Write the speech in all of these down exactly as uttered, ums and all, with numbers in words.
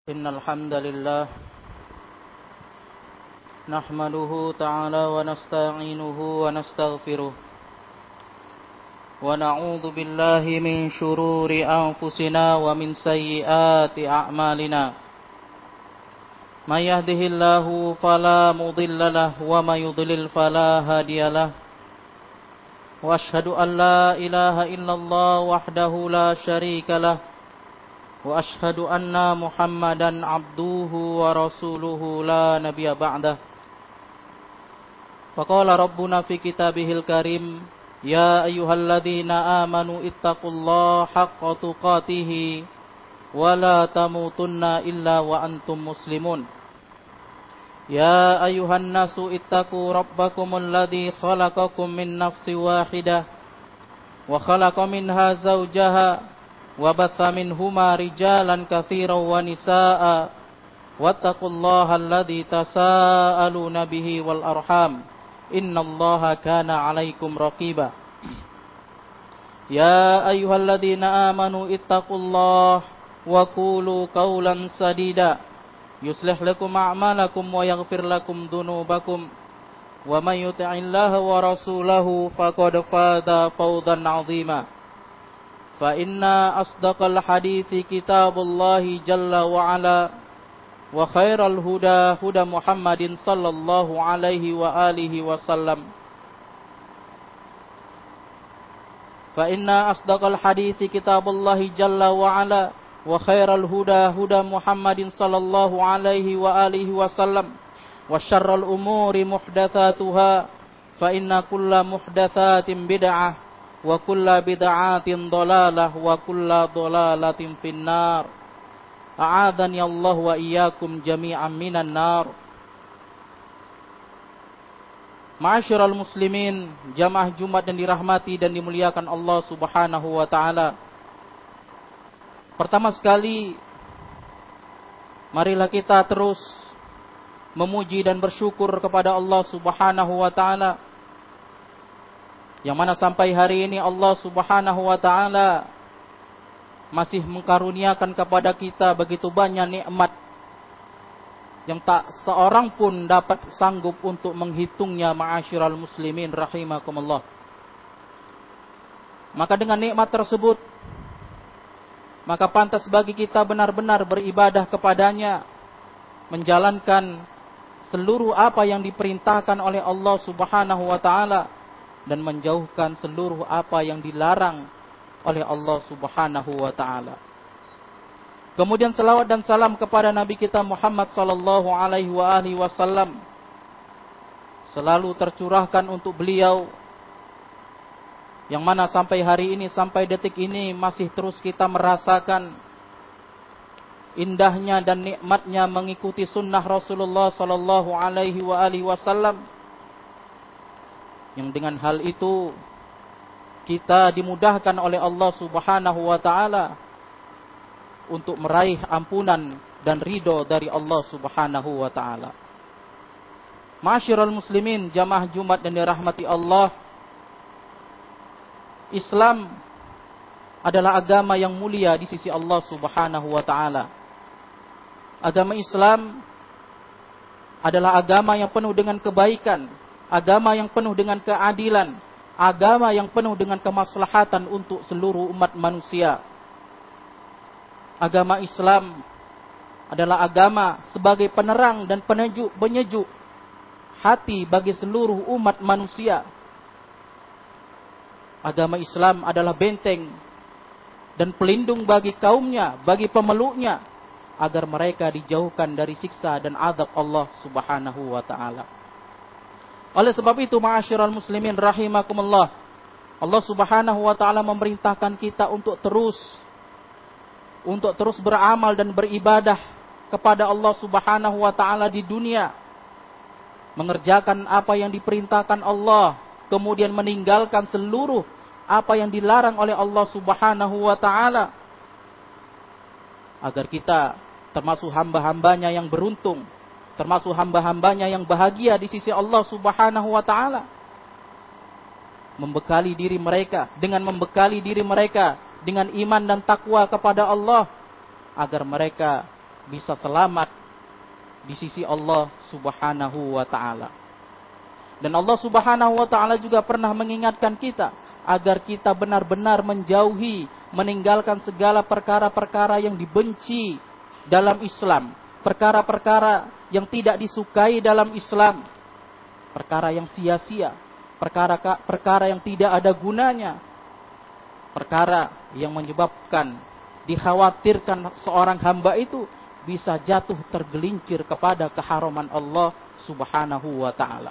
إن الحمد لله نحمده تعالى ونستعينه ونستغفره ونعوذ بالله من شرور أنفسنا ومن سيئات أعمالنا من يهده الله فلا مضل له ومن يضلل فلا هادي له وأشهد أن لا إله إلا الله وحده لا شريك له وأشهد أن محمدا عبده ورسوله لا نبي بعده فقال ربنا في كتابه الكريم يا أيها الذين آمنوا اتقوا الله حق تقاته ولا تموتن إلا وأنتم مسلمون يا أيها الناس اتقوا ربكم الذي خلقكم من نفس واحدة وخلق منها زوجها وبث منهما رجالا كثيرا ونساء واتقوا الله الذي تساءلون به والأرحام إن الله كان عليكم رقيبا يا أيها الذين آمنوا اتقوا الله وقولوا قولا سديدا يصلح لكم أعمالكم ويغفر لكم ذنوبكم ومن يطع الله ورسوله فقد فاز فوزا عظيما فإن أصدق الحديث كتاب الله جل وعلا وخير الهدى هدى محمد صلى الله عليه وآله وسلم فإن أصدق الحديث كتاب الله جل وعلا وخير الهدى هدى محمد صلى الله عليه وآله وسلم وشر الأمور محدثاتها فإن كل محدثات بدعة wa kullu bid'atin dhalalah wa kullu dhalalatin finnar a'adhani Allah wa iyyakum jami'an minan nar. Ma'asyiral muslimin, jamaah Jumat yang dirahmati dan dimuliakan Allah Subhanahu wa taala. Pertama sekali marilah kita terus memuji dan bersyukur kepada Allah Subhanahu wa taala, yang mana sampai hari ini Allah Subhanahu wa ta'ala masih mengkaruniakan kepada kita begitu banyak nikmat yang tak seorang pun dapat sanggup untuk menghitungnya. Ma'asyiral muslimin rahimakumullah. Maka dengan nikmat tersebut, maka pantas bagi kita benar-benar beribadah kepadanya, menjalankan seluruh apa yang diperintahkan oleh Allah Subhanahu wa ta'ala, dan menjauhkan seluruh apa yang dilarang oleh Allah Subhanahu wa ta'ala. Kemudian selawat dan salam kepada Nabi kita Muhammad sallallahu alaihi wa alihi wasallam selalu tercurahkan untuk beliau, yang mana sampai hari ini, sampai detik ini masih terus kita merasakan indahnya dan nikmatnya mengikuti sunnah Rasulullah sallallahu alaihi wa alihi wasallam, yang dengan hal itu kita dimudahkan oleh Allah Subhanahu wa ta'ala untuk meraih ampunan dan ridho dari Allah Subhanahu wa ta'ala. Ma'asyiral muslimin, jamaah Jumat dan dirahmati Allah, Islam adalah agama yang mulia di sisi Allah Subhanahu wa ta'ala. Agama Islam adalah agama yang penuh dengan kebaikan, agama yang penuh dengan keadilan, agama yang penuh dengan kemaslahatan untuk seluruh umat manusia. Agama Islam adalah agama sebagai penerang dan penejuk, penyejuk hati bagi seluruh umat manusia. Agama Islam adalah benteng dan pelindung bagi kaumnya, bagi pemeluknya, agar mereka dijauhkan dari siksa dan azab Allah Subhanahu wa ta'ala. Oleh sebab itu, ma'asyiral muslimin rahimakumullah, Allah Subhanahu wa ta'ala memerintahkan kita untuk terus untuk terus beramal dan beribadah kepada Allah Subhanahu wa ta'ala di dunia, mengerjakan apa yang diperintahkan Allah, kemudian meninggalkan seluruh apa yang dilarang oleh Allah Subhanahu wa ta'ala, agar kita termasuk hamba-hambanya yang beruntung, termasuk hamba-hambanya yang bahagia di sisi Allah Subhanahu wa ta'ala. Membekali diri mereka, dengan membekali diri mereka dengan iman dan takwa kepada Allah, agar mereka bisa selamat di sisi Allah Subhanahu wa ta'ala. Dan Allah Subhanahu wa ta'ala juga pernah mengingatkan kita agar kita benar-benar menjauhi, meninggalkan segala perkara-perkara yang dibenci dalam Islam, perkara-perkara yang tidak disukai dalam Islam, perkara yang sia-sia, perkara-perkara yang tidak ada gunanya, perkara yang menyebabkan dikhawatirkan seorang hamba itu bisa jatuh tergelincir kepada keharaman Allah Subhanahu wa ta'ala.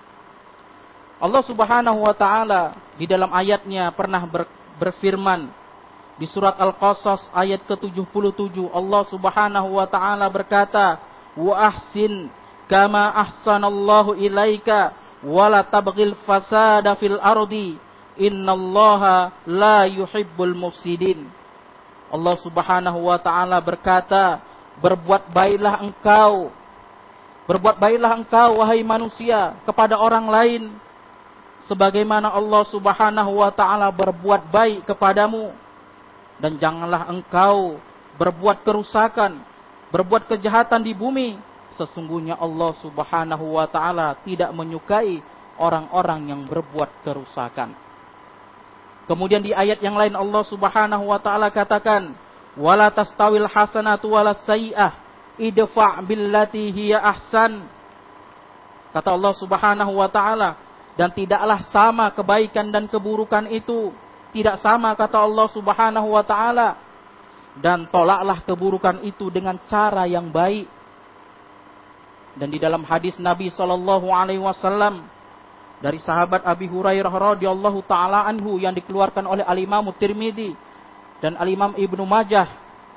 Allah Subhanahu wa ta'ala di dalam ayatnya pernah ber, berfirman di surat Al-Qasas ayat ke tujuh puluh tujuh. Allah Subhanahu wa ta'ala berkata, wa ahsin kama ahsanallahu ilaika wa la tabghil fasada fil ardi innallaha la yuhibbul mufsidin. Allah Subhanahu wa ta'ala berkata, berbuat baiklah engkau, berbuat baiklah engkau wahai manusia kepada orang lain sebagaimana Allah Subhanahu wa ta'ala berbuat baik kepadamu, dan janganlah engkau berbuat kerusakan, berbuat kejahatan di bumi. Sesungguhnya Allah Subhanahu wa ta'ala tidak menyukai orang-orang yang berbuat kerusakan. Kemudian di ayat yang lain Allah Subhanahu wa ta'ala katakan, wala tastawil hasanatu walas sayyi'ah idfa' billati hiya ahsan. Kata Allah Subhanahu wa ta'ala, dan tidaklah sama kebaikan dan keburukan itu, tidak sama kata Allah Subhanahu wa ta'ala, dan tolaklah keburukan itu dengan cara yang baik. Dan di dalam hadis Nabi sallallahu alaihi wasallam dari sahabat Abi Hurairah radhiyallahu taala anhu yang dikeluarkan oleh Al-Imam Tirmidzi dan Al-Imam Ibnu Majah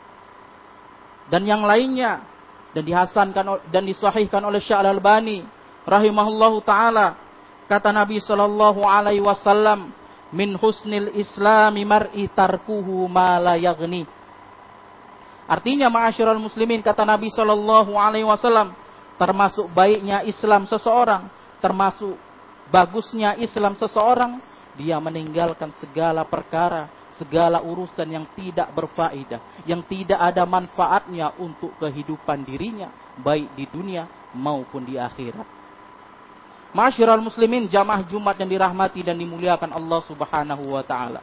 dan yang lainnya, dan dihasankan dan disahihkan oleh Syekh Al-Albani rahimahullahu taala, kata Nabi sallallahu alaihi wasallam, min husnil islami mar'i tarkuhu ma la yaghni. Artinya, ma'asyiral muslimin, kata Nabi sallallahu alaihi wasallam, termasuk baiknya Islam seseorang, termasuk bagusnya Islam seseorang, dia meninggalkan segala perkara, segala urusan yang tidak berfaedah, yang tidak ada manfaatnya untuk kehidupan dirinya, baik di dunia maupun di akhirat. Ma'asyiral muslimin, jamaah Jumat yang dirahmati dan dimuliakan Allah Subhanahu wa ta'ala.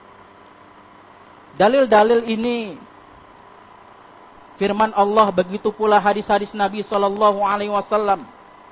Dalil-dalil ini, firman Allah, begitu pula hadis-hadis Nabi sallallahu alaihi wasallam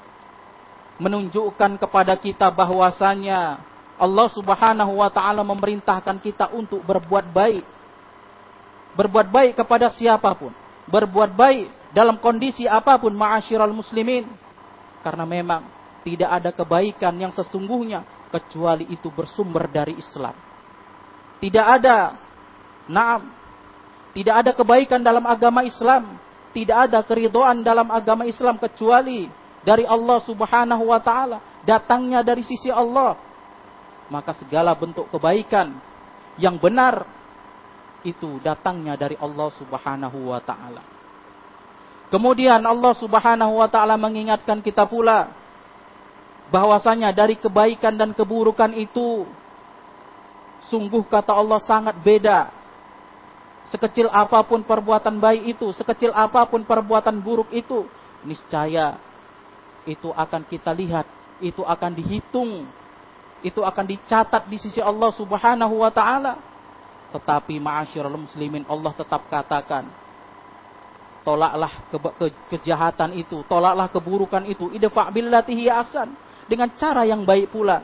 menunjukkan kepada kita bahwasanya Allah Subhanahu wa ta'ala memerintahkan kita untuk berbuat baik. Berbuat baik kepada siapapun, berbuat baik dalam kondisi apapun, ma'asyiral muslimin. Karena memang tidak ada kebaikan yang sesungguhnya kecuali itu bersumber dari Islam. Tidak ada, naam, tidak ada kebaikan dalam agama Islam, tidak ada keridhaan dalam agama Islam kecuali dari Allah Subhanahu wa ta'ala, datangnya dari sisi Allah. Maka segala bentuk kebaikan yang benar itu datangnya dari Allah Subhanahu wa ta'ala. Kemudian Allah Subhanahu wa ta'ala mengingatkan kita pula bahwasanya dari kebaikan dan keburukan itu sungguh, kata Allah, sangat beda. Sekecil apapun perbuatan baik itu, sekecil apapun perbuatan buruk itu, niscaya itu akan kita lihat, itu akan dihitung, itu akan dicatat di sisi Allah Subhanahu wa ta'ala. Tetapi ma'asyiral muslimin, Allah tetap katakan, tolaklah ke, ke, kejahatan itu, tolaklah keburukan itu, idfa' billati hiya ahsan, dengan cara yang baik pula.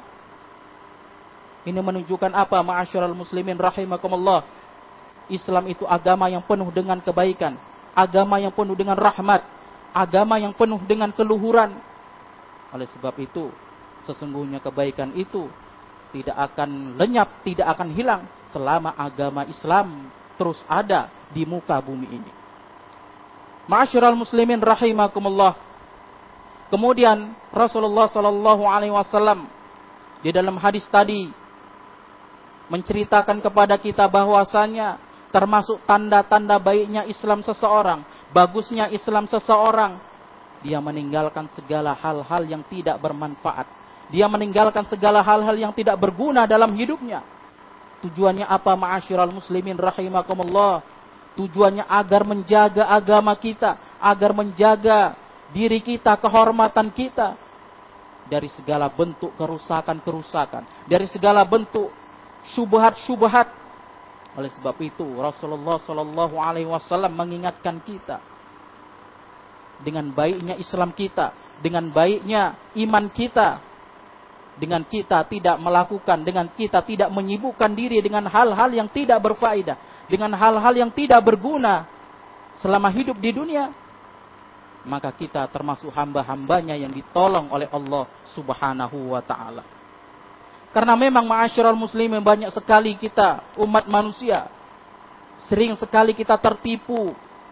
Ini menunjukkan apa, ma'asyiral muslimin rahimakumullah? Islam itu agama yang penuh dengan kebaikan, agama yang penuh dengan rahmat, agama yang penuh dengan keluhuran. Oleh sebab itu, sesungguhnya kebaikan itu tidak akan lenyap, tidak akan hilang selama agama Islam terus ada di muka bumi ini. Ma'asyiral muslimin rahimakumullah. Kemudian Rasulullah sallallahu alaihi wasallam di dalam hadis tadi menceritakan kepada kita bahwasanya termasuk tanda-tanda baiknya Islam seseorang, bagusnya Islam seseorang, dia meninggalkan segala hal-hal yang tidak bermanfaat. Dia meninggalkan segala hal-hal yang tidak berguna dalam hidupnya. Tujuannya apa, ma'asyiral muslimin rahimakumullah? Tujuannya agar menjaga agama kita, agar menjaga diri kita, kehormatan kita dari segala bentuk kerusakan-kerusakan, dari segala bentuk syubhat-syubhat. Oleh sebab itu Rasulullah Shallallahu Alaihi Wasallam mengingatkan kita dengan baiknya Islam kita, dengan baiknya iman kita, dengan kita tidak melakukan, dengan kita tidak menyibukkan diri dengan hal-hal yang tidak berfaedah, dengan hal-hal yang tidak berguna selama hidup di dunia, maka kita termasuk hamba-hambanya yang ditolong oleh Allah Subhanahu wa ta'ala. Karena memang ma'asyiral muslimin, banyak sekali kita umat manusia, sering sekali kita tertipu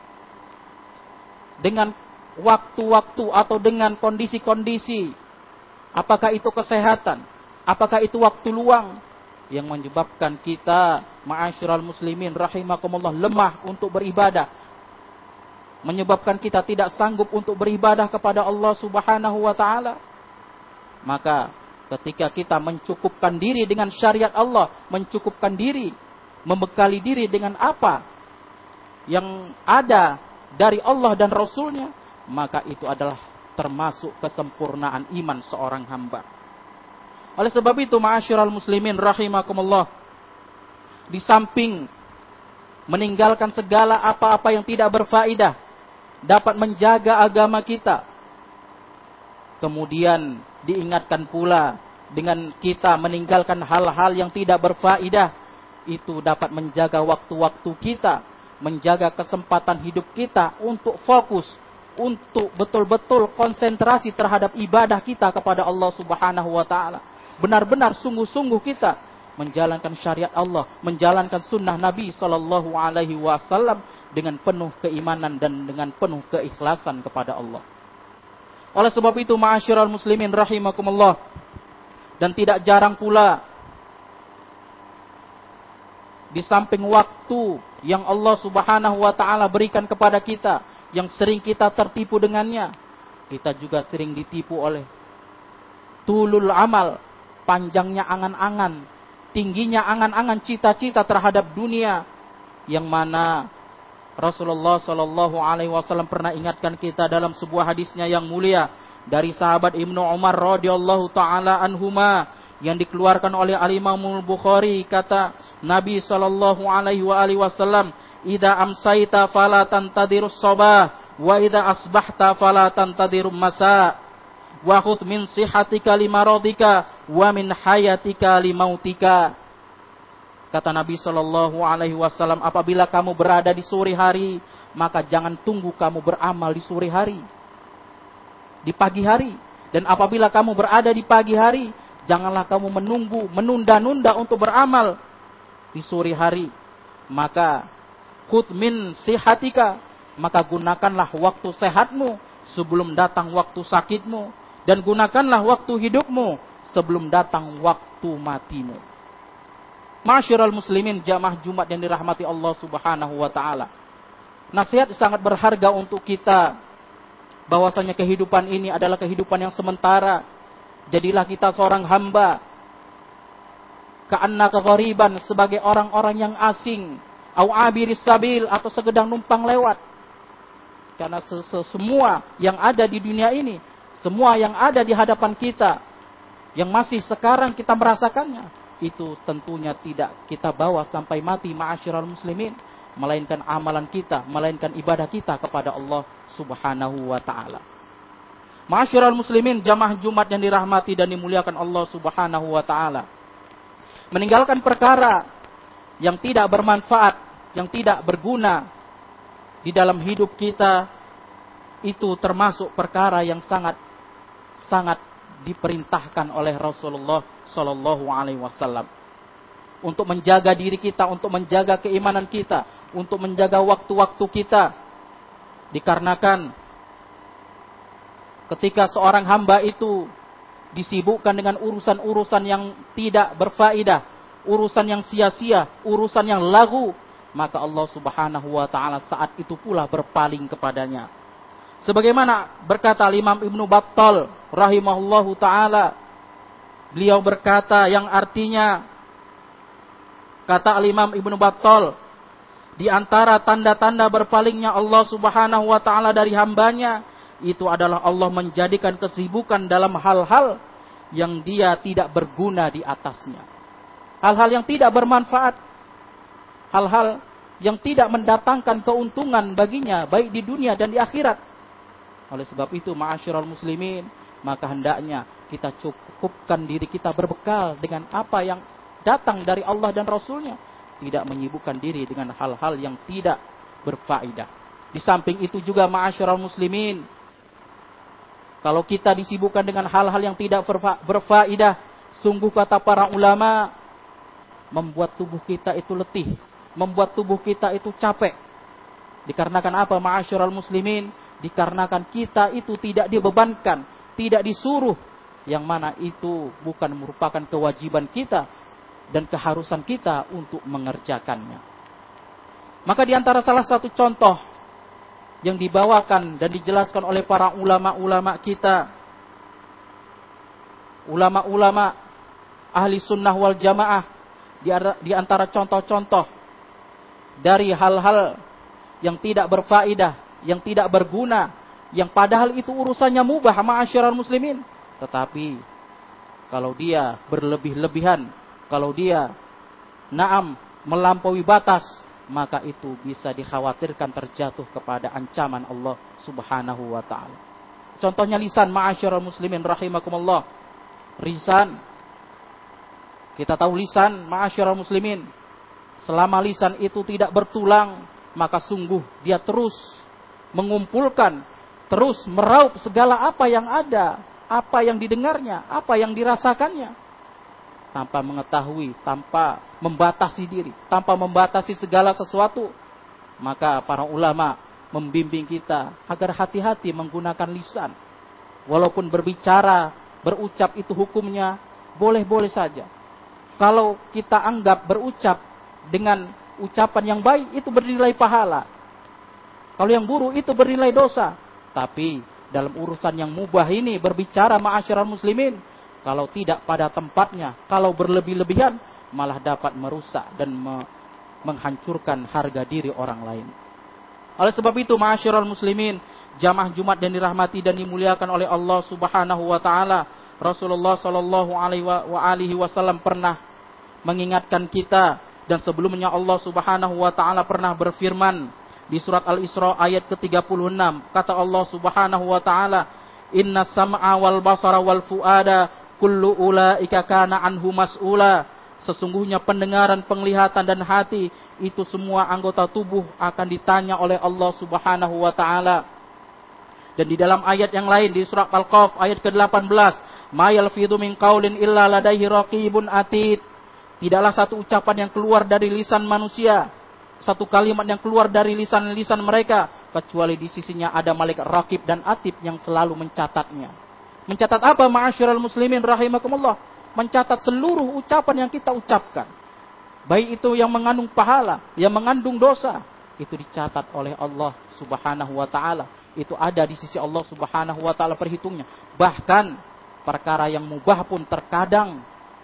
dengan waktu-waktu atau dengan kondisi-kondisi, apakah itu kesehatan, apakah itu waktu luang, yang menyebabkan kita ma'asyiral muslimin rahimakumullah lemah untuk beribadah, menyebabkan kita tidak sanggup untuk beribadah kepada Allah Subhanahu wa ta'ala. Maka ketika kita mencukupkan diri dengan syariat Allah, mencukupkan diri, membekali diri dengan apa yang ada dari Allah dan Rasulnya, maka itu adalah termasuk kesempurnaan iman seorang hamba. Oleh sebab itu ma'asyiral muslimin rahimakumullah, di samping meninggalkan segala apa-apa yang tidak berfaedah, dapat menjaga agama kita, kemudian diingatkan pula dengan kita meninggalkan hal-hal yang tidak berfaedah, itu dapat menjaga waktu-waktu kita, menjaga kesempatan hidup kita untuk fokus, untuk betul-betul konsentrasi terhadap ibadah kita kepada Allah Subhanahu wa ta'ala. Benar-benar sungguh-sungguh kita menjalankan syariat Allah, menjalankan sunnah Nabi Sallallahu Alaihi Wasallam dengan penuh keimanan dan dengan penuh keikhlasan kepada Allah. Oleh sebab itu ma'asyiral muslimin rahimakumullah, dan tidak jarang pula di samping waktu yang Allah Subhanahu wa ta'ala berikan kepada kita, yang sering kita tertipu dengannya, kita juga sering ditipu oleh tulul amal, panjangnya angan-angan, tingginya angan-angan cita-cita terhadap dunia, yang mana Rasulullah Shallallahu Alaihi Wasallam pernah ingatkan kita dalam sebuah hadisnya yang mulia dari sahabat Ibnu Umar radhiyallahu taala anhuma, yang dikeluarkan oleh Al-Imam Al-Bukhari. Kata Nabi Shallallahu Alaihi Wasallam, "Idza amsaita fala tantadirus sabah, wa idza asbahta fala tantadirul masa, wa khudh min sihatika limaradika, wa min hayatika limautika." Kata Nabi Shallallahu Alaihi Wasallam, apabila kamu berada di sore hari, maka jangan tunggu kamu beramal di sore hari, di pagi hari. Dan apabila kamu berada di pagi hari, janganlah kamu menunggu, menunda-nunda untuk beramal di sore hari. Maka khudh min sihatika, maka gunakanlah waktu sehatmu sebelum datang waktu sakitmu, dan gunakanlah waktu hidupmu sebelum datang waktu matimu. Ma'asyiral muslimin jamaah Jumat yang dirahmati Allah Subhanahu wa ta'ala, nasihat sangat berharga untuk kita, bahwasanya kehidupan ini adalah kehidupan yang sementara. Jadilah kita seorang hamba ka'annaka ghariban, sebagai orang-orang yang asing, au abiris sabil, atau sekedar numpang lewat. Karena semua yang ada di dunia ini, semua yang ada di hadapan kita, yang masih sekarang kita merasakannya, itu tentunya tidak kita bawa sampai mati ma'asyiral muslimin, melainkan amalan kita, melainkan ibadah kita kepada Allah Subhanahu wa ta'ala. Ma'asyiral muslimin jamaah Jumat yang dirahmati dan dimuliakan Allah Subhanahu wa ta'ala, meninggalkan perkara yang tidak bermanfaat, yang tidak berguna di dalam hidup kita, itu termasuk perkara yang sangat sangat diperintahkan oleh Rasulullah Shallallahu Alaihi Wasallam, untuk menjaga diri kita, untuk menjaga keimanan kita, untuk menjaga waktu-waktu kita. Dikarenakan ketika seorang hamba itu disibukkan dengan urusan-urusan yang tidak berfaedah, urusan yang sia-sia, urusan yang lagu, maka Allah Subhanahu wa ta'ala saat itu pula berpaling kepadanya. Sebagaimana berkata Imam Ibnu Battal rahimahullahu ta'ala, beliau berkata yang artinya, kata Imam Ibnu Battal, Di antara tanda-tanda berpalingnya Allah Subhanahu wa taala dari hambanya, itu adalah Allah menjadikan kesibukan dalam hal-hal yang dia tidak berguna di atasnya. Hal-hal yang tidak bermanfaat. Hal-hal yang tidak mendatangkan keuntungan baginya, baik di dunia dan di akhirat. Oleh sebab itu, ma'asyiral muslimin, maka hendaknya kita cukupkan diri kita berbekal dengan apa yang datang dari Allah dan Rasulnya. Tidak menyibukkan diri dengan hal-hal yang tidak berfaedah. Di samping itu juga ma'asyiral muslimin, kalau kita disibukkan dengan hal-hal yang tidak berfaedah, sungguh kata para ulama, membuat tubuh kita itu letih, membuat tubuh kita itu capek. Dikarenakan apa ma'asyiral muslimin? Dikarenakan kita itu tidak dibebankan, tidak disuruh, yang mana itu bukan merupakan kewajiban kita dan keharusan kita untuk mengerjakannya. Maka di antara salah satu contoh yang dibawakan dan dijelaskan oleh para ulama-ulama kita, ulama-ulama ahli sunnah wal jamaah, di antara contoh-contoh dari hal-hal yang tidak berfaedah, yang tidak berguna, yang padahal itu urusannya mubah ma'asyiral muslimin, tetapi kalau dia berlebih-lebihan, kalau dia naam melampaui batas, maka itu bisa dikhawatirkan terjatuh kepada ancaman Allah Subhanahu wa taala. Contohnya lisan ma'asyiral muslimin rahimakumullah. Lisan, kita tahu lisan ma'asyiral muslimin, selama lisan itu tidak bertulang, maka sungguh dia terus mengumpulkan, terus meraup segala apa yang ada, apa yang didengarnya, apa yang dirasakannya, tanpa mengetahui, tanpa membatasi diri, tanpa membatasi segala sesuatu. Maka para ulama membimbing kita agar hati-hati menggunakan lisan. Walaupun berbicara, berucap itu hukumnya boleh-boleh saja. Kalau kita anggap berucap dengan ucapan yang baik, itu bernilai pahala. Kalau yang buruk, itu bernilai dosa. Tapi dalam urusan yang mubah ini, berbicara ma'asyiral muslimin, kalau tidak pada tempatnya, kalau berlebih-lebihan, malah dapat merusak dan me- menghancurkan harga diri orang lain. Oleh sebab itu, ma'asyiral muslimin, jamaah Jumat dan dirahmati dan dimuliakan oleh Allah Subhanahu wa taala, Rasulullah sallallahu alaihi wasallam pernah mengingatkan kita, dan sebelumnya Allah Subhanahu wa taala pernah berfirman di surat Al-Isra ayat ke tiga puluh enam. Kata Allah Subhanahu wa taala, "Inna sam'a wal basara wal fuada kullu ulaika kana anhu mas'ula." Sesungguhnya pendengaran, penglihatan dan hati, itu semua anggota tubuh akan ditanya oleh Allah Subhanahu wa taala. Dan di dalam ayat yang lain di surat Al-Qaf ayat ke delapan belas, "Ma yalfidhu min qaulin illa ladaihi raqibun atid." Tidaklah satu ucapan yang keluar dari lisan manusia, satu kalimat yang keluar dari lisan-lisan mereka, kecuali di sisinya ada malaikat raqib dan atid yang selalu mencatatnya. Mencatat apa ma'asyiral muslimin rahimakumullah? Mencatat seluruh ucapan yang kita ucapkan. Baik itu yang mengandung pahala, yang mengandung dosa, itu dicatat oleh Allah Subhanahu wa taala. Itu ada di sisi Allah Subhanahu wa taala perhitungnya. Bahkan perkara yang mubah pun terkadang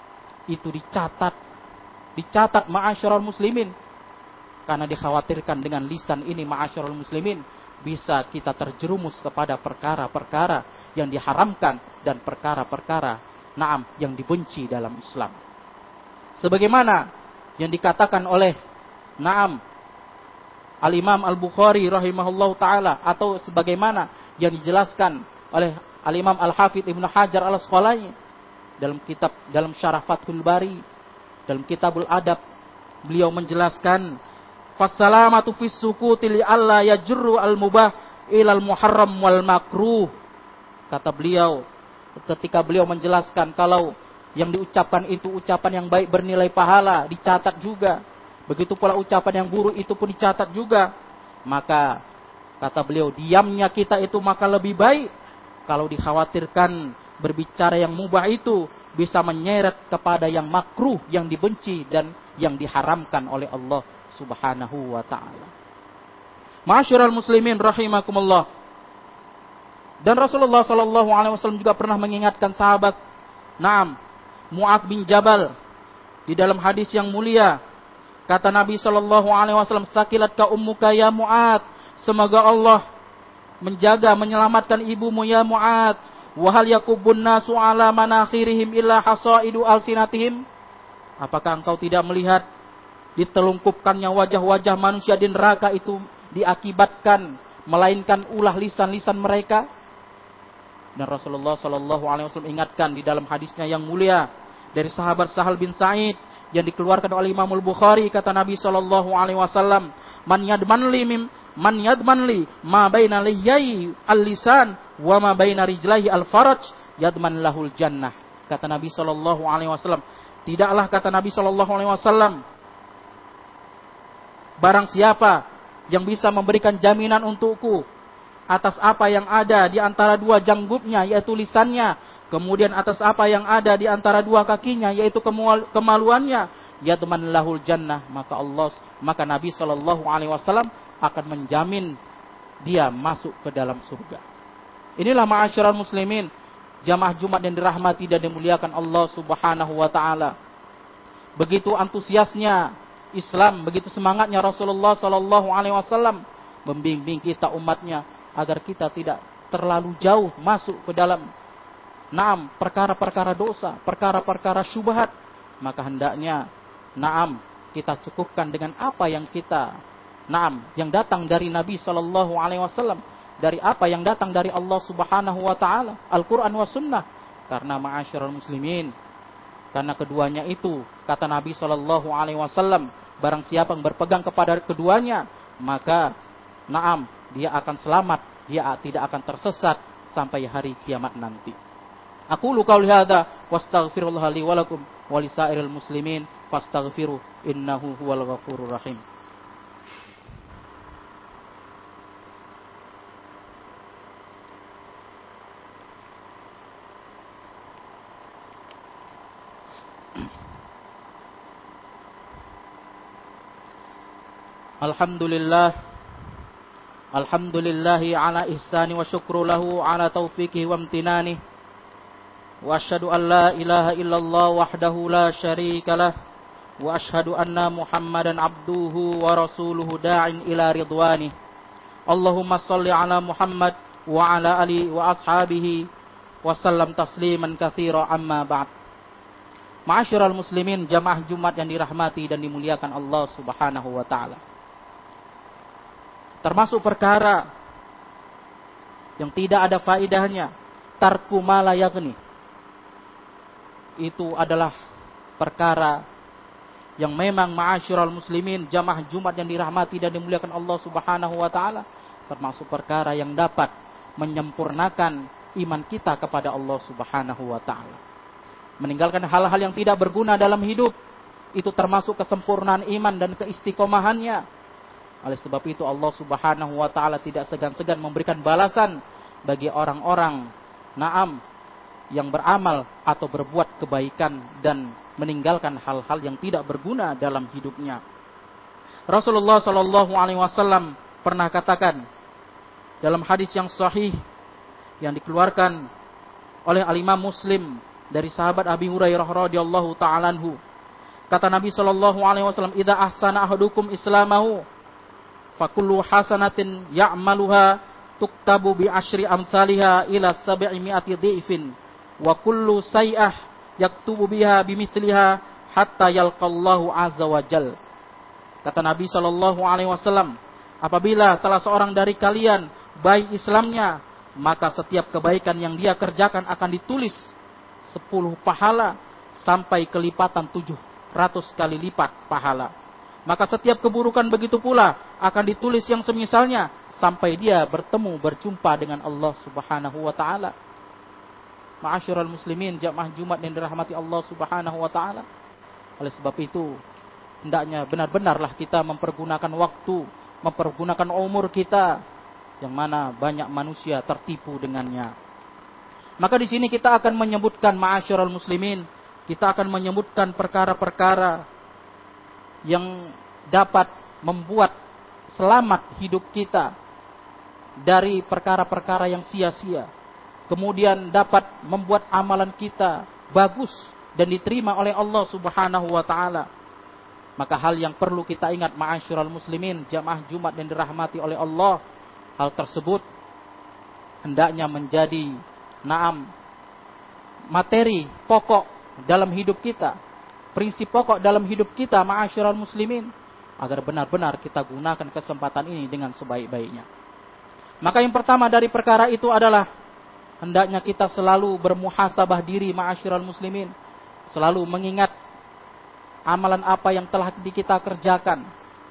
itu dicatat. Dicatat ma'asyiral muslimin. Karena dikhawatirkan dengan lisan ini ma'asyiral muslimin, bisa kita terjerumus kepada perkara-perkara yang diharamkan dan perkara-perkara naam yang dibenci dalam Islam. Sebagaimana yang dikatakan oleh naam Al-Imam Al-Bukhari rahimahullahu taala, atau sebagaimana yang dijelaskan oleh Al-Imam Al-Hafidz Ibnu Hajar Al-Asqalani dalam kitab dalam Syarah Fathul Bari, dalam Kitabul Adab, beliau menjelaskan, "Fassalamatu fis sukuti li alla yajru al-mubah ilal muharram wal makruh." Kata beliau, ketika beliau menjelaskan kalau yang diucapkan itu ucapan yang baik bernilai pahala, dicatat juga. Begitu pula ucapan yang buruk itu pun dicatat juga. Maka kata beliau, diamnya kita itu maka lebih baik kalau dikhawatirkan berbicara yang mubah itu bisa menyeret kepada yang makruh, yang dibenci dan yang diharamkan oleh Allah Subhanahu wa taala. Ma'asyiral muslimin rahimakumullah. Dan Rasulullah sallallahu alaihi wasallam juga pernah mengingatkan sahabat Naam Mu'adz bin Jabal di dalam hadis yang mulia Kata Nabi Shallallahu Alaihi Wasallam, sakilat ka ummuka ya Mu'ad. Semoga Allah menjaga, menyelamatkan ibumu ya Mu'ad. Wahal yakubun nasu ala manakhirihim illa hasaidu alsinatihim. Apakah engkau tidak melihat ditelungkupkannya wajah-wajah manusia di neraka itu diakibatkan melainkan ulah lisan-lisan mereka? Dan Rasulullah Shallallahu Alaihi Wasallam ingatkan di dalam hadisnya yang mulia dari sahabat Sahal bin Sa'id yang dikeluarkan oleh Imam Al-Bukhari, kata Nabi Shallallahu Alaihi Wasallam, man yadman li mim man yadman li ma baina liyai al-lisan wa ma baina rijlaihi al-faraj yadman lahul jannah. Kata Nabi Shallallahu Alaihi Wasallam, tidaklah, kata Nabi Shallallahu Alaihi Wasallam, barang siapa yang bisa memberikan jaminan untukku atas apa yang ada di antara dua janggutnya, yaitu lisannya, kemudian atas apa yang ada di antara dua kakinya, yaitu kemaluannya, yadman lahul jannah, maka Allah, maka Nabi Shallallahu Alaihi Wasallam akan menjamin dia masuk ke dalam surga. Inilah ma'asyiral muslimin, jamaah Jumat yang dirahmati dan dimuliakan Allah Subhanahu wa taala. Begitu antusiasnya Islam, begitu semangatnya Rasulullah Shallallahu Alaihi Wasallam membimbing kita umatnya agar kita tidak terlalu jauh masuk ke dalam naam perkara-perkara dosa, perkara-perkara syubhat. Maka hendaknya naam kita cukupkan dengan apa yang kita naam yang datang dari Nabi Shallallahu Alaihi Wasallam, dari apa yang datang dari Allah Subhanahu wa taala, Al-Qur'an wa sunnah. Karena ma'asyiral muslimin, karena keduanya itu, kata Nabi Shallallahu Alaihi Wasallam, barang siapa yang berpegang kepada keduanya, maka naam dia akan selamat, dia tidak akan tersesat sampai hari kiamat nanti. Aku lu qauli hadza wastaghfirullah li wa lakum wa lisairil muslimin fastaghfiru innahu huwal ghafurur rahim. Alhamdulillah, alhamdulillahi ala ihsani wa syukru lahu ala taufiqihi wa amtinani. Wa asyhadu an la ilaha illallah wahdahu la syarika lah. Wa asyhadu anna Muhammadan abduhu wa rasuluhu da'in ila ridwani. Allahumma salli ala Muhammad wa ala ali wa ashabihi wa sallam tasliman katsira amma ba'd. Ma'asyiral muslimin, jamaah Jumat yang dirahmati dan dimuliakan Allah Subhanahu wa taala. Termasuk perkara yang tidak ada faedahnya, tarku ma la yaghni. Itu adalah perkara yang memang ma'asyiral muslimin, jamaah Jumat yang dirahmati dan dimuliakan Allah Subhanahu wa taala, termasuk perkara yang dapat menyempurnakan iman kita kepada Allah Subhanahu wa taala. Meninggalkan hal-hal yang tidak berguna dalam hidup, itu termasuk kesempurnaan iman dan keistiqomahannya. Oleh sebab itu Allah Subhanahu wa taala tidak segan-segan memberikan balasan bagi orang-orang naam yang beramal atau berbuat kebaikan dan meninggalkan hal-hal yang tidak berguna dalam hidupnya. Rasulullah Shallallahu Alaihi Wasallam pernah katakan dalam hadis yang sahih yang dikeluarkan oleh Al-Imam Muslim dari sahabat Abi Hurairah radhiyallahu ta'ala anhu, kata Nabi Shallallahu Alaihi Wasallam, idza ahsana ahadukum islamahu fakullu hasanatin ya'maluha tuktabu bi asyri amsalha ila sab'i mi'ati dhifin wa kullu say'ah yaktubu biha bimithliha hatta yalqallahu azza wa jal. Kata Nabi Shallallahu Alaihi Wasallam, apabila salah seorang dari kalian baik Islamnya, maka setiap kebaikan yang dia kerjakan akan ditulis sepuluh pahala sampai kelipatan tujuh ratus kali lipat pahala. Maka setiap keburukan begitu pula akan ditulis yang semisalnya sampai dia bertemu berjumpa dengan Allah Subhanahu wa taala. Ma'asyiral muslimin, jamaah Jumat yang dirahmati Allah Subhanahu wa taala. Oleh sebab itu, hendaknya benar-benarlah kita mempergunakan waktu, mempergunakan umur kita yang mana banyak manusia tertipu dengannya. Maka di sini kita akan menyebutkan ma'asyiral muslimin, kita akan menyebutkan perkara-perkara yang dapat membuat selamat hidup kita dari perkara-perkara yang sia-sia. Kemudian dapat membuat amalan kita bagus dan diterima oleh Allah Subhanahu wa taala. Maka hal yang perlu kita ingat ma'asyiral muslimin, jamaah Jumat yang dirahmati oleh Allah, hal tersebut hendaknya menjadi naam materi pokok dalam hidup kita, prinsip pokok dalam hidup kita ma'asyiral muslimin, agar benar-benar kita gunakan kesempatan ini dengan sebaik-baiknya. Maka yang pertama dari perkara itu adalah hendaknya kita selalu bermuhasabah diri ma'asyiral muslimin, selalu mengingat amalan apa yang telah kita kerjakan.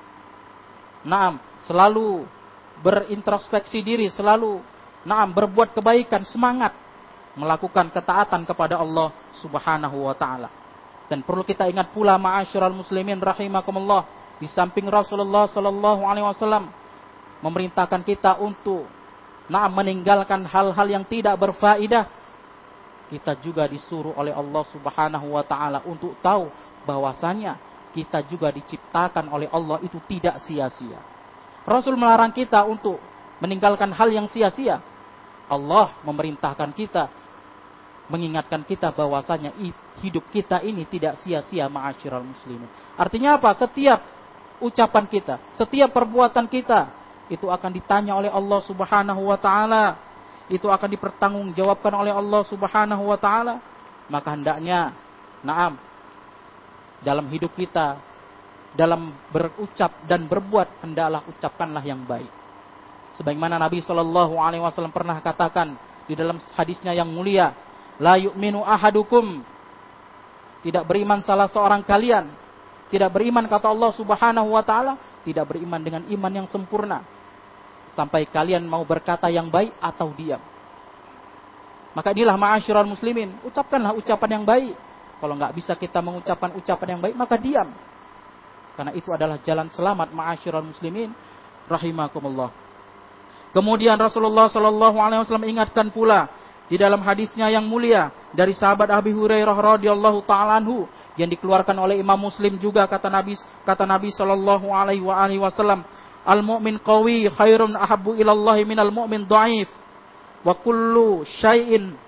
Naam, selalu berintrospeksi diri, selalu naam berbuat kebaikan, semangat melakukan ketaatan kepada Allah Subhanahu wa taala. Dan perlu kita ingat pula ma'asyiral muslimin rahimakumullah, di samping Rasulullah sallallahu alaihi wasallam memerintahkan kita untuk naam meninggalkan hal-hal yang tidak berfaedah, kita juga disuruh oleh Allah Subhanahu wa taala untuk tahu bahwasanya kita juga diciptakan oleh Allah itu tidak sia-sia. Rasul melarang kita untuk meninggalkan hal yang sia-sia. Allah memerintahkan kita, mengingatkan kita bahwasanya hidup kita ini tidak sia-sia ma'asyiral muslimin. Artinya apa? Setiap ucapan kita, setiap perbuatan kita itu akan ditanya oleh Allah Subhanahu wa taala, itu akan dipertanggungjawabkan oleh Allah Subhanahu wa taala. Maka hendaknya naam dalam hidup kita, dalam berucap dan berbuat, hendaklah ucapkanlah yang baik. Sebagaimana Nabi Shallallahu Alaihi Wasallam pernah katakan di dalam hadisnya yang mulia, la yu'minu ahadukum, tidak beriman salah seorang kalian, tidak beriman kata Allah Subhanahu Wa Taala, tidak beriman dengan iman yang sempurna, sampai kalian mau berkata yang baik atau diam. Maka inilah ma'asyiral muslimin, ucapkanlah ucapan yang baik. Kalau nggak bisa kita mengucapkan ucapan yang baik, maka diam. Karena itu adalah jalan selamat ma'asyiral muslimin rahimakumullah. Kemudian Rasulullah sallallahu alaihi wasallam ingatkan pula di dalam hadisnya yang mulia dari sahabat Abi Hurairah radhiyallahu taala anhu yang dikeluarkan oleh Imam Muslim juga, kata Nabi kata Nabi sallallahu alaihi wasallam, al-mu'min qawi khairun ahabbu ilallahi minal mu'min dhaif wa kullu syai'in.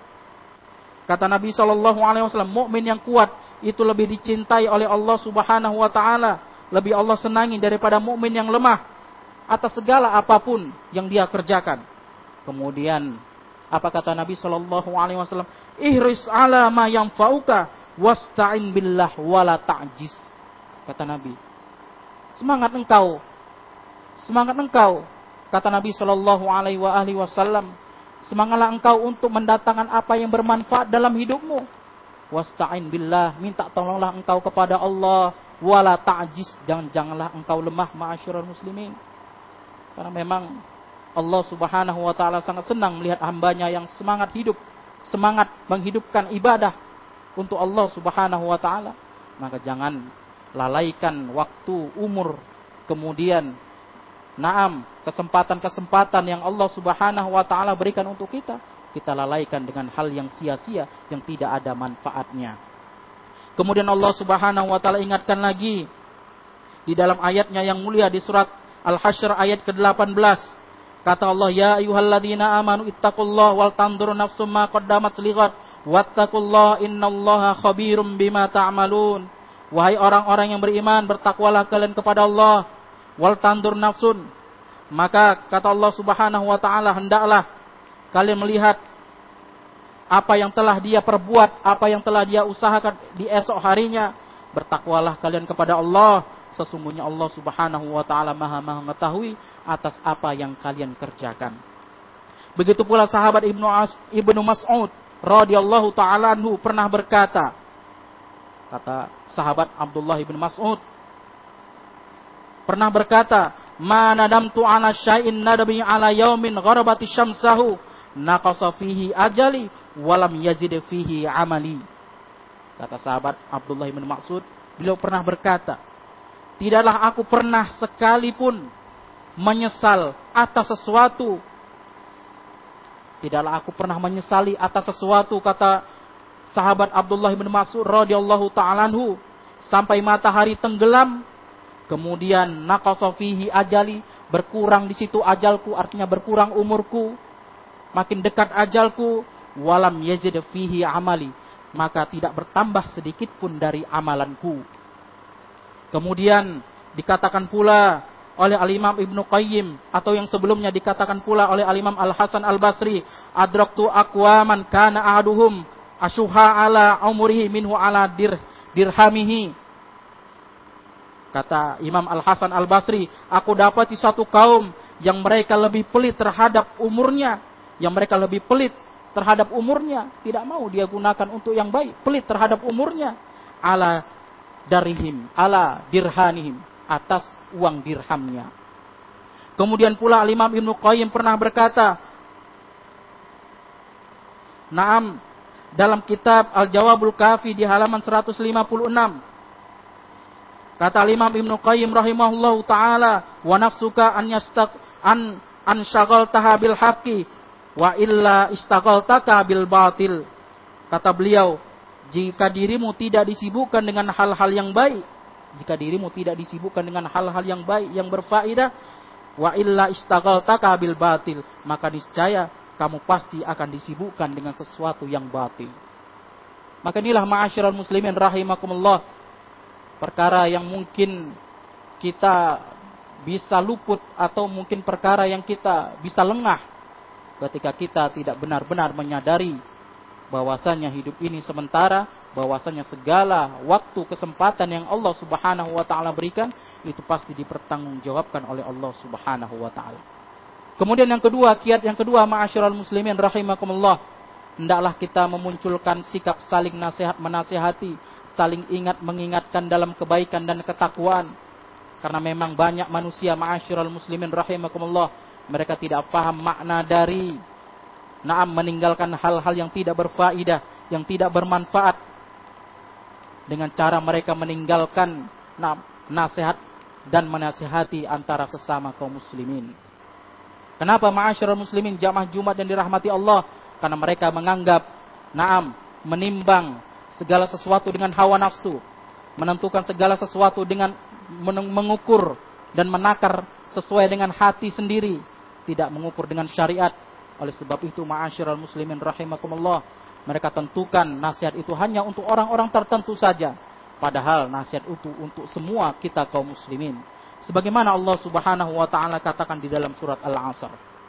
Kata Nabi shallallahu alaihi wasallam, mukmin yang kuat itu lebih dicintai oleh Allah Subhanahu wa taala, lebih Allah senangi daripada mukmin yang lemah atas segala apapun yang dia kerjakan. Kemudian apa kata Nabi shallallahu alaihi wasallam? Ihris ala ma yanfa'uka wasta'in billah wala ta'jiz. Kata Nabi, semangat engkau, semangat engkau, kata Nabi shallallahu alaihi wasallam, semangatlah engkau untuk mendatangkan apa yang bermanfaat dalam hidupmu. Wasta'in billah, minta tolonglah engkau kepada Allah, wala ta'jiz, jangan janganlah engkau lemah ma'asyiral muslimin. Karena memang Allah Subhanahu wa taala sangat senang melihat hambanya yang semangat hidup, semangat menghidupkan ibadah untuk Allah Subhanahu wa taala. Maka jangan lalaikan waktu, umur, kemudian naam, kesempatan-kesempatan yang Allah Subhanahu wa taala berikan untuk kita, kita lalaikan dengan hal yang sia-sia yang tidak ada manfaatnya. Kemudian Allah Subhanahu wa taala ingatkan lagi di dalam ayatnya yang mulia di surat Al-Hasyr ayat ke delapan belas. Kata Allah, ya ayyuhalladzina amanu ittaqullaha wal tanzur nafsum ma qaddamat lighad wattaqullaha innallaha khabirum bima ta'malun. Wahai orang-orang yang beriman, bertakwalah kalian kepada Allah. Wal tandur nafsun, maka kata Allah Subhanahu wa taala, hendaklah kalian melihat apa yang telah dia perbuat, apa yang telah dia usahakan di esok harinya. Bertakwalah kalian kepada Allah, sesungguhnya Allah Subhanahu wa taala Maha mengetahui atas apa yang kalian kerjakan. Begitu pula sahabat Ibnu As, Ibnu Mas'ud radhiyallahu taala anhu pernah berkata, kata sahabat Abdullah bin Mas'ud pernah berkata, ma nadamtu ala syai'in nadami ala yaumin gharabati syamsahu naqasa fihi ajali walam yazid fihi amali. Kata sahabat Abdullah bin Mas'ud, beliau pernah berkata, tidaklah aku pernah sekalipun menyesal atas sesuatu. Tidaklah aku pernah menyesali atas sesuatu, kata sahabat Abdullah bin Mas'ud radhiyallahu ta'ala anhu, sampai matahari tenggelam. Kemudian naqasa fihi ajali, berkurang di situ ajalku, artinya berkurang umurku, makin dekat ajalku. Walam yazid fihi amali, maka tidak bertambah sedikit pun dari amalanku. Kemudian dikatakan pula oleh Al-Imam Ibnu Qayyim, atau yang sebelumnya dikatakan pula oleh Al-Imam Al-Hasan Al-Basri, adraktu aqwaman kana ahaduhum asyuha ala umrihi minhu ala dir, dirhamihi. Kata Imam Al-Hasan Al-Basri, aku dapati satu kaum yang mereka lebih pelit terhadap umurnya, yang mereka lebih pelit terhadap umurnya, tidak mau dia gunakan untuk yang baik, pelit terhadap umurnya, ala darihim, ala dirhanihim, atas uang dirhamnya. Kemudian pula Imam Ibnu Qayyim pernah berkata, Naam, dalam kitab Al-Jawabul Kafi di halaman seratus lima puluh enam, kata Imam Ibnu Qayyim rahimahullahu taala, wa nafsuka an yastaq an an syaghaltaha bil haqqi wa illa istaghaltaka bil batil. Kata beliau, jika dirimu tidak disibukkan dengan hal-hal yang baik, jika dirimu tidak disibukkan dengan hal-hal yang baik yang berfaedah, wa illa istaghaltaka bil batil, maka niscaya kamu pasti akan disibukkan dengan sesuatu yang batil. Maka inilah ma'asyiral muslimin rahimakumullah, perkara yang mungkin kita bisa luput, atau mungkin perkara yang kita bisa lengah ketika kita tidak benar-benar menyadari bahwasanya hidup ini sementara, bahwasanya segala waktu kesempatan yang Allah Subhanahu wa taala berikan itu pasti dipertanggungjawabkan oleh Allah Subhanahu wa taala. Kemudian yang kedua, kiat yang kedua ma'asyiral muslimin rahimakumullah, hendaklah kita memunculkan sikap saling nasihat menasihati, saling ingat mengingatkan dalam kebaikan dan ketakwaan. Karena memang banyak manusia ma'asyiral muslimin rahimakumullah, mereka tidak paham makna dari naam meninggalkan hal-hal yang tidak berfaedah, yang tidak bermanfaat, dengan cara mereka meninggalkan naam, nasihat dan menasihati antara sesama kaum muslimin. Kenapa ma'asyiral muslimin jamaah Jumat yang dirahmati Allah? Karena mereka menganggap naam menimbang segala sesuatu dengan hawa nafsu, menentukan segala sesuatu dengan mengukur dan menakar sesuai dengan hati sendiri, tidak mengukur dengan syariat. Oleh sebab itu ma'asyiral muslimin rahimakumullah, mereka tentukan nasihat itu hanya untuk orang-orang tertentu saja, padahal nasihat itu untuk semua kita kaum muslimin. Sebagaimana Allah Subhanahu wa taala katakan di dalam surat Al-Asr.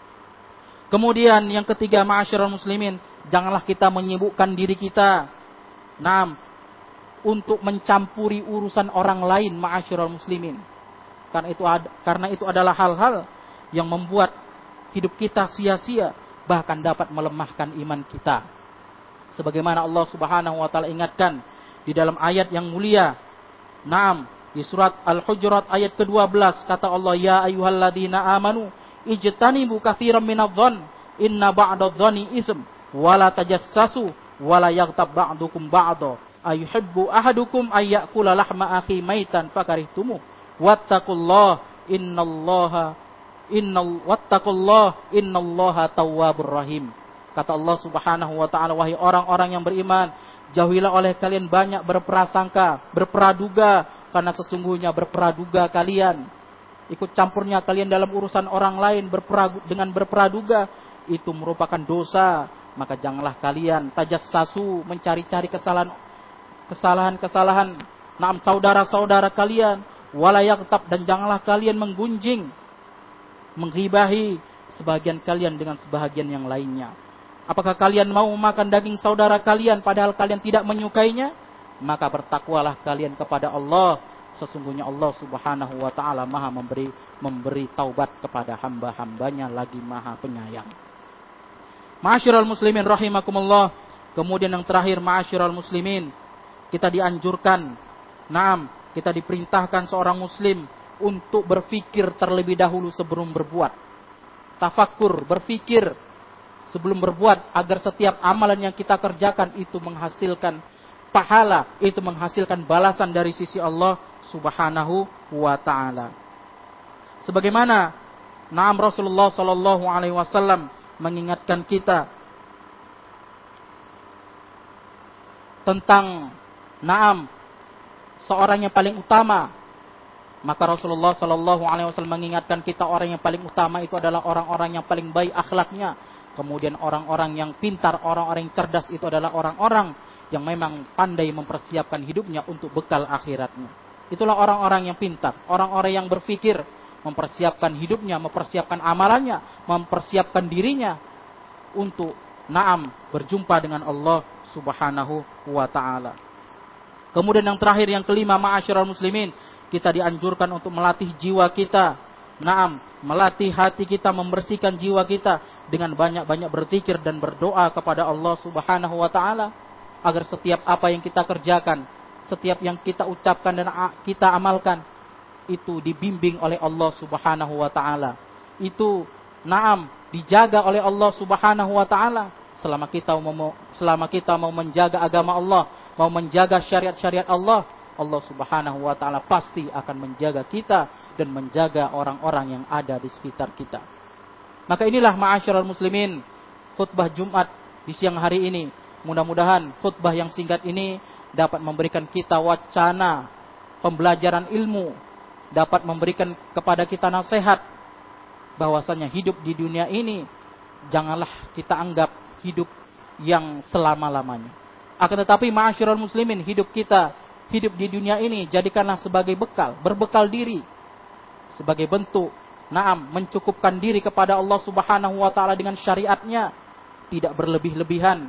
Kemudian yang ketiga ma'asyiral muslimin, janganlah kita menyibukkan diri kita naam untuk mencampuri urusan orang lain ma'asyiral muslimin. Karena itu ad, karena itu adalah hal-hal yang membuat hidup kita sia-sia, bahkan dapat melemahkan iman kita. Sebagaimana Allah Subhanahu wa taala ingatkan di dalam ayat yang mulia. Naam, di surat Al-Hujurat ayat kedua belas, kata Allah, ya ayyuhalladzina amanu ijtanibu katsiran minadh-dhon inna ba'dadh-dhoni ism wa la tajassasu wa la yaghtab ba'dukum ba'dha ayuhibbu ahadukum ayyakula lahma akhi maitan fakarihtumu wattaqullah innallaha innal wattaqullah innallaha tawwabur rahim. Kata Allah Subhanahu wa taala, wahai orang-orang yang beriman, jauhilah oleh kalian banyak berprasangka, berpraduga, karena sesungguhnya berpraduga kalian, ikut campurnya kalian dalam urusan orang lain berpragu, dengan berpraduga itu merupakan dosa. Maka janganlah kalian tajassasu, mencari-cari kesalahan kesalahan-kesalahan naam saudara-saudara kalian, wala yaghtab, dan janganlah kalian menggunjing, menghibahi sebagian kalian dengan sebahagian yang lainnya. Apakah kalian mau makan daging saudara kalian padahal kalian tidak menyukainya? Maka bertakwalah kalian kepada Allah. Sesungguhnya Allah Subhanahu wa taala Maha memberi memberi taubat kepada hamba-hambanya, lagi Maha penyayang. Ma'asyiral muslimin rahimakumullah. Kemudian yang terakhir ma'asyiral muslimin, kita dianjurkan, naam, kita diperintahkan seorang muslim untuk berfikir terlebih dahulu sebelum berbuat. Tafakkur, berfikir sebelum berbuat, agar setiap amalan yang kita kerjakan itu menghasilkan pahala, itu menghasilkan balasan dari sisi Allah Subhanahu wa taala. Sebagaimana naam Rasulullah sallallahu alaihi wasallam mengingatkan kita tentang naam seorang yang paling utama, maka Rasulullah sallallahu alaihi wasallam mengingatkan kita orang yang paling utama itu adalah orang-orang yang paling baik akhlaknya. Kemudian orang-orang yang pintar, orang-orang yang cerdas, itu adalah orang-orang yang memang pandai mempersiapkan hidupnya untuk bekal akhiratnya. Itulah orang-orang yang pintar, orang-orang yang berpikir, mempersiapkan hidupnya, mempersiapkan amalannya, mempersiapkan dirinya untuk naam berjumpa dengan Allah Subhanahu wa taala. Kemudian yang terakhir, yang kelima, ma'asyiral muslimin, kita dianjurkan untuk melatih jiwa kita. Naam, melatih hati kita, membersihkan jiwa kita dengan banyak-banyak berzikir dan berdoa kepada Allah Subhanahu wa taala agar setiap apa yang kita kerjakan, setiap yang kita ucapkan dan kita amalkan itu dibimbing oleh Allah Subhanahu wa taala. Itu naam dijaga oleh Allah Subhanahu wa taala. Selama kita mau selama kita mau menjaga agama Allah, mau menjaga syariat-syariat Allah, Allah Subhanahu wa taala pasti akan menjaga kita dan menjaga orang-orang yang ada di sekitar kita. Maka inilah ma'asyiral muslimin, khutbah Jumat di siang hari ini. Mudah-mudahan khutbah yang singkat ini dapat memberikan kita wacana pembelajaran ilmu, dapat memberikan kepada kita nasihat bahwasanya hidup di dunia ini janganlah kita anggap hidup yang selama-lamanya. Akan tetapi ma'asyiral muslimin, hidup kita, hidup di dunia ini jadikanlah sebagai bekal, berbekal diri, sebagai bentuk naam mencukupkan diri kepada Allah Subhanahu wa taala dengan syariatnya, tidak berlebih-lebihan,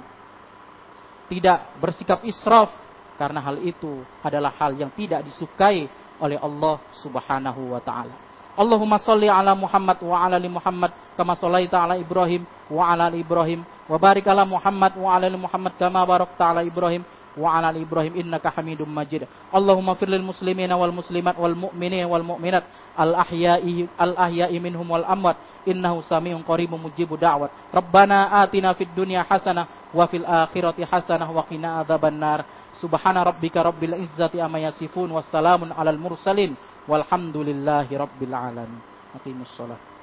tidak bersikap israf, karena hal itu adalah hal yang tidak disukai oleh Allah Subhanahu wa taala. Allahumma shalli ala Muhammad wa ala ali Muhammad kama shallaita ala Ibrahim wa ala ali Ibrahim wa barik ala Muhammad wa ala ali Muhammad kama barakta ala Ibrahim wa ala ali Ibrahim innaka Hamidum Majid. Allahumma fir lil muslimina wal muslimat wal mu'minina wal mu'minat al ahya'i al ahya'i minhum wal amwat innahu samiun qaribun mujibud da'wat. Rabbana atina fid dunya hasanah wa fil akhirati hasanah wa qina adzabannar. Subhana rabbika rabbil izzati amma yasifun wassalamun alal mursalin walhamdulillahi rabbil alamin. Aqimus shalah.